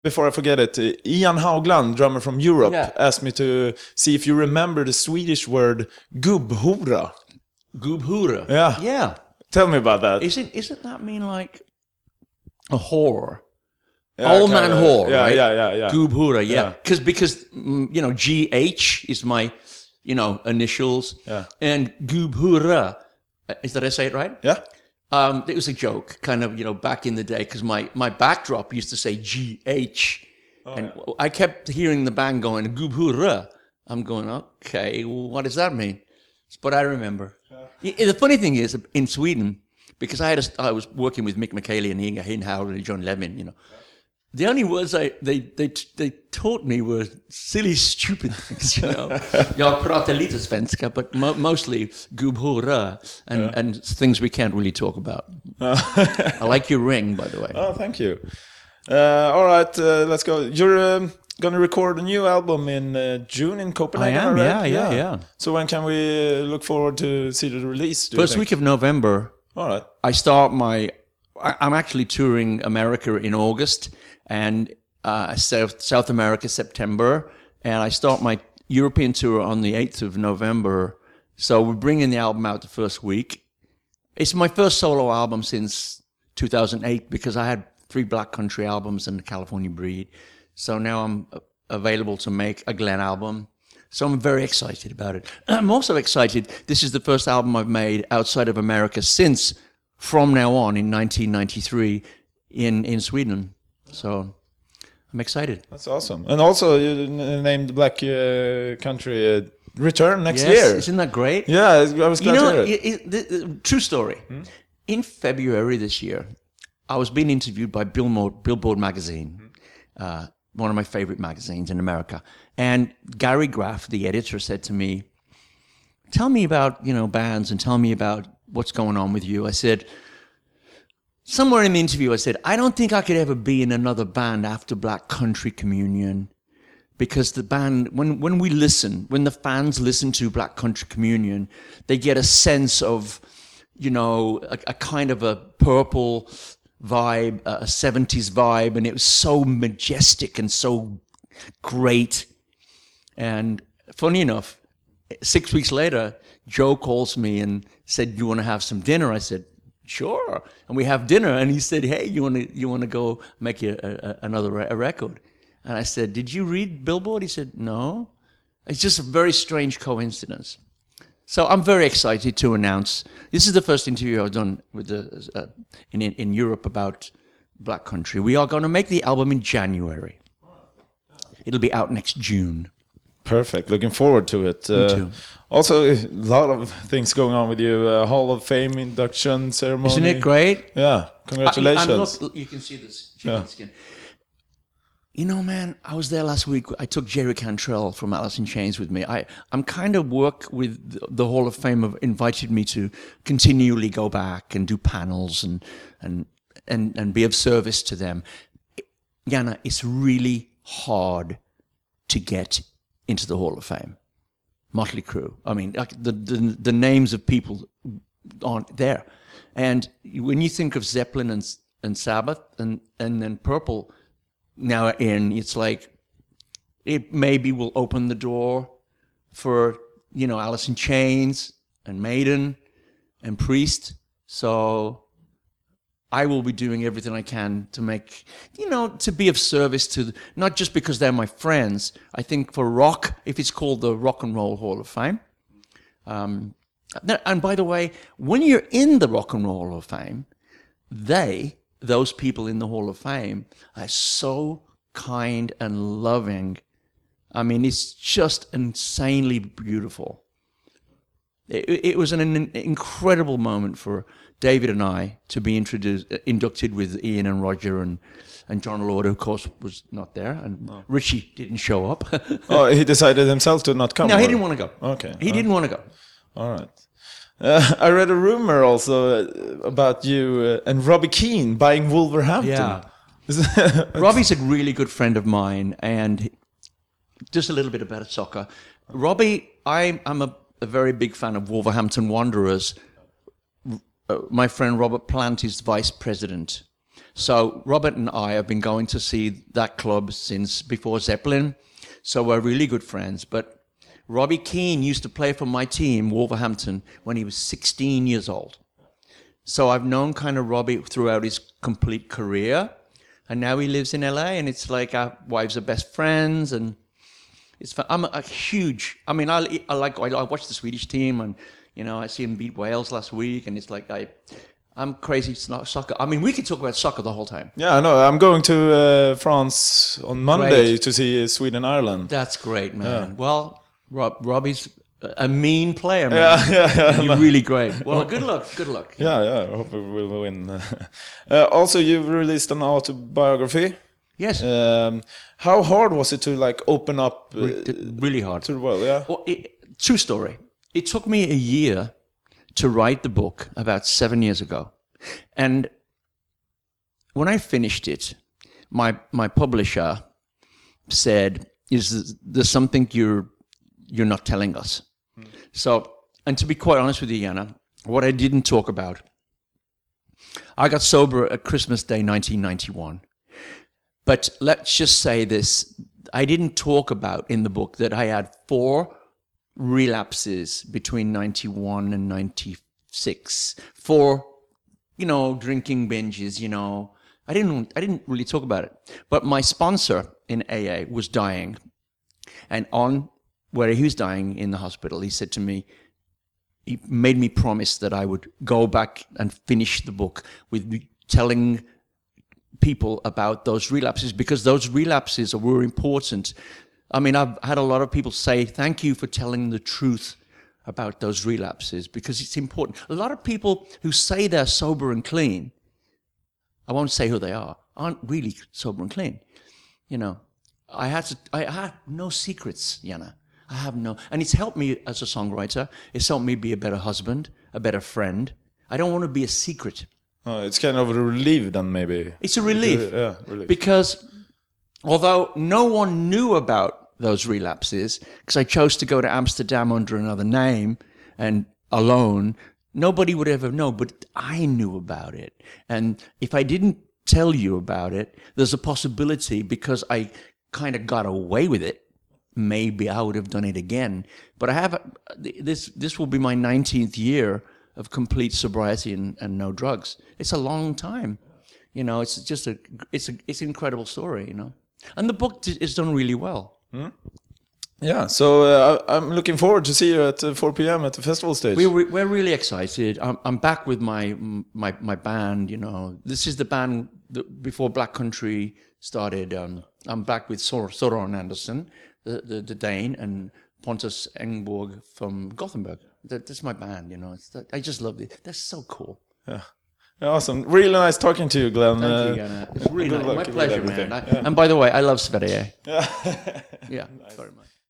Before I forget it, Ian Haugland, drummer from Europe, Yeah. asked me to see if you remember the Swedish word gubbhora. Gubbhora. Yeah. Yeah. Tell me about that. Isn't that mean like a whore? Yeah, Old man kinda. whore, Yeah, right? yeah. Gubbhora, yeah. Yeah. Because GH is my, initials. Yeah. And Gubbhora, is that I say it right? Yeah. It was a joke, kind of, back in the day, because my backdrop used to say GH. And I kept hearing the band going, Gubbhora. I'm going, okay, well, what does that mean? But I remember. The funny thing is, in Sweden, because I was working with Mick McKaylee and Inga Hinhauer and John Levin, the only words they taught me were silly, stupid things, Jag pratar lite svenska, but mostly gubbhora and things we can't really talk about. I like your ring, by the way. Oh, thank you. All right, let's go. You're going to record a new album in June in Copenhagen, I am, right? yeah. So when can we look forward to see the release? First week of November. All right. I start I'm actually touring America in August and South America September, and I start my European tour on the 8th of November. So we're bringing the album out the first week. It's my first solo album since 2008 because I had 3 Black Country albums and the California Breed. So now I'm available to make a Glenn album. So I'm very excited about it. I'm also excited. This is the first album I've made outside of America since From Now On in 1993 in Sweden. So I'm excited. That's awesome. And also you named Black Country Return next year. Isn't that great? Yeah, I was glad to hear it. True story. In February this year, I was being interviewed by Billboard magazine, one of my favorite magazines in America. And Gary Graff, the editor, said to me, tell me about, bands and tell me about what's going on with you. I said, somewhere in the interview, I said, I don't think I could ever be in another band after Black Country Communion. Because the band, when the fans listen to Black Country Communion, they get a sense of, a kind of a purple vibe, a 70s vibe, and it was so majestic and so great. And funny enough, 6 weeks later, Joe calls me and said, "You want to have some dinner?" I said, "Sure." And we have dinner, and he said, "Hey, you want to go make another record?" And I said, "Did you read Billboard?" He said, "No." It's just a very strange coincidence. So I'm very excited to announce this is the first interview I've done with in Europe about Black Country. We are going to make the album in January. It'll be out next June. Perfect. Looking forward to it. Me too. Also, a lot of things going on with you. Hall of Fame induction ceremony. Isn't it great? Yeah. Congratulations. You can see this chicken skin. Man, I was there last week. I took Jerry Cantrell from Alice in Chains with me. I'm kind of work with the Hall of Fame have invited me to continually go back and do panels and be of service to them. Jana, it's really hard to get into the Hall of Fame. Motley Crue. I mean, like the names of people aren't there. And when you think of Zeppelin and Sabbath and then Purple now it's like it maybe will open the door for, Alice in Chains and Maiden and Priest. So I will be doing everything I can to make, to be of service to, not just because they're my friends. I think for rock, if it's called the Rock and Roll Hall of Fame. And by the way, when you're in the Rock and Roll Hall of Fame, those people in the Hall of Fame are so kind and loving. I mean, it's just insanely beautiful. It was an incredible moment for David and I to be inducted with Ian and Roger and John Lord, who of course was not there, and Richie didn't show up. Oh, he decided himself to not come? No, he didn't want to go. Okay. He didn't want to go. All right. I read a rumor also about you and Robbie Keane buying Wolverhampton. Yeah. Robbie's a really good friend of mine, and just a little bit about soccer. Robbie, I'm a very big fan of Wolverhampton Wanderers. My friend Robert Plant is vice president. So Robert and I have been going to see that club since before Zeppelin. So we're really good friends. But Robbie Keane used to play for my team, Wolverhampton, when he was 16 years old. So I've known kind of Robbie throughout his complete career. And now he lives in LA, and it's like our wives are best friends. And it's fun. I'm a huge, I mean, I watch the Swedish team, and, you know, I see him beat Wales last week, and it's like I'm crazy soccer. I mean, we could talk about soccer the whole time. Yeah, I know. I'm going to France on Monday Great. to see Sweden-Ireland. That's great, man. Yeah. Well, Robbie's a mean player, man. Yeah. You're really great. Well, good luck. Yeah. I hope we will win. Also, you've released an autobiography. Yes. How hard was it to like open up? Really hard. To the world, yeah. Well, true story. It took me a year to write the book about 7 years ago. And when I finished it, my publisher said, "Is there something you're not telling us?" So, and to be quite honest with you, Jana, what I didn't talk about, I got sober at Christmas Day 1991. But let's just say this, I didn't talk about in the book that I had 4 relapses between 91 and 96. 4, you know, drinking binges, you know. I didn't really talk about it. But my sponsor in AA was dying. And on where he was dying in the hospital, he said to me, he made me promise that I would go back and finish the book with telling people about those relapses, because those relapses were important. I mean, I've had a lot of people say, thank you for telling the truth about those relapses, because it's important. A lot of people who say they're sober and clean, I won't say who they are, aren't really sober and clean. You know, I had no secrets, Jana. I have no, and it's helped me as a songwriter. It's helped me be a better husband, a better friend. I don't want to be a secret. Oh, it's kind of a relief then, maybe. It's a relief. Yeah, relief. Because although no one knew about those relapses, because I chose to go to Amsterdam under another name and alone, nobody would ever know, but I knew about it. And if I didn't tell you about it, there's a possibility, because I kind of got away with it, maybe I would have done it again. But I have this will be my 19th year of complete sobriety and no drugs. It's a long time, you know. It's just it's an incredible story, you know. And the book is done really well. Yeah, so I'm looking forward to see you at 4 p.m. at the festival stage. We're really excited. I'm back with my band. You know, this is the band that before Black Country started. I'm back with Soren Andersen, the Dane, and Pontus Engborg from Gothenburg. That's my band. You know, I just love it. That's so cool. Yeah. Awesome. Really nice talking to you, Glenn. Thank you, Gunnar. It's really nice. My pleasure, man. Yeah. And by the way, I love Sverige. Yeah. Yeah, very much.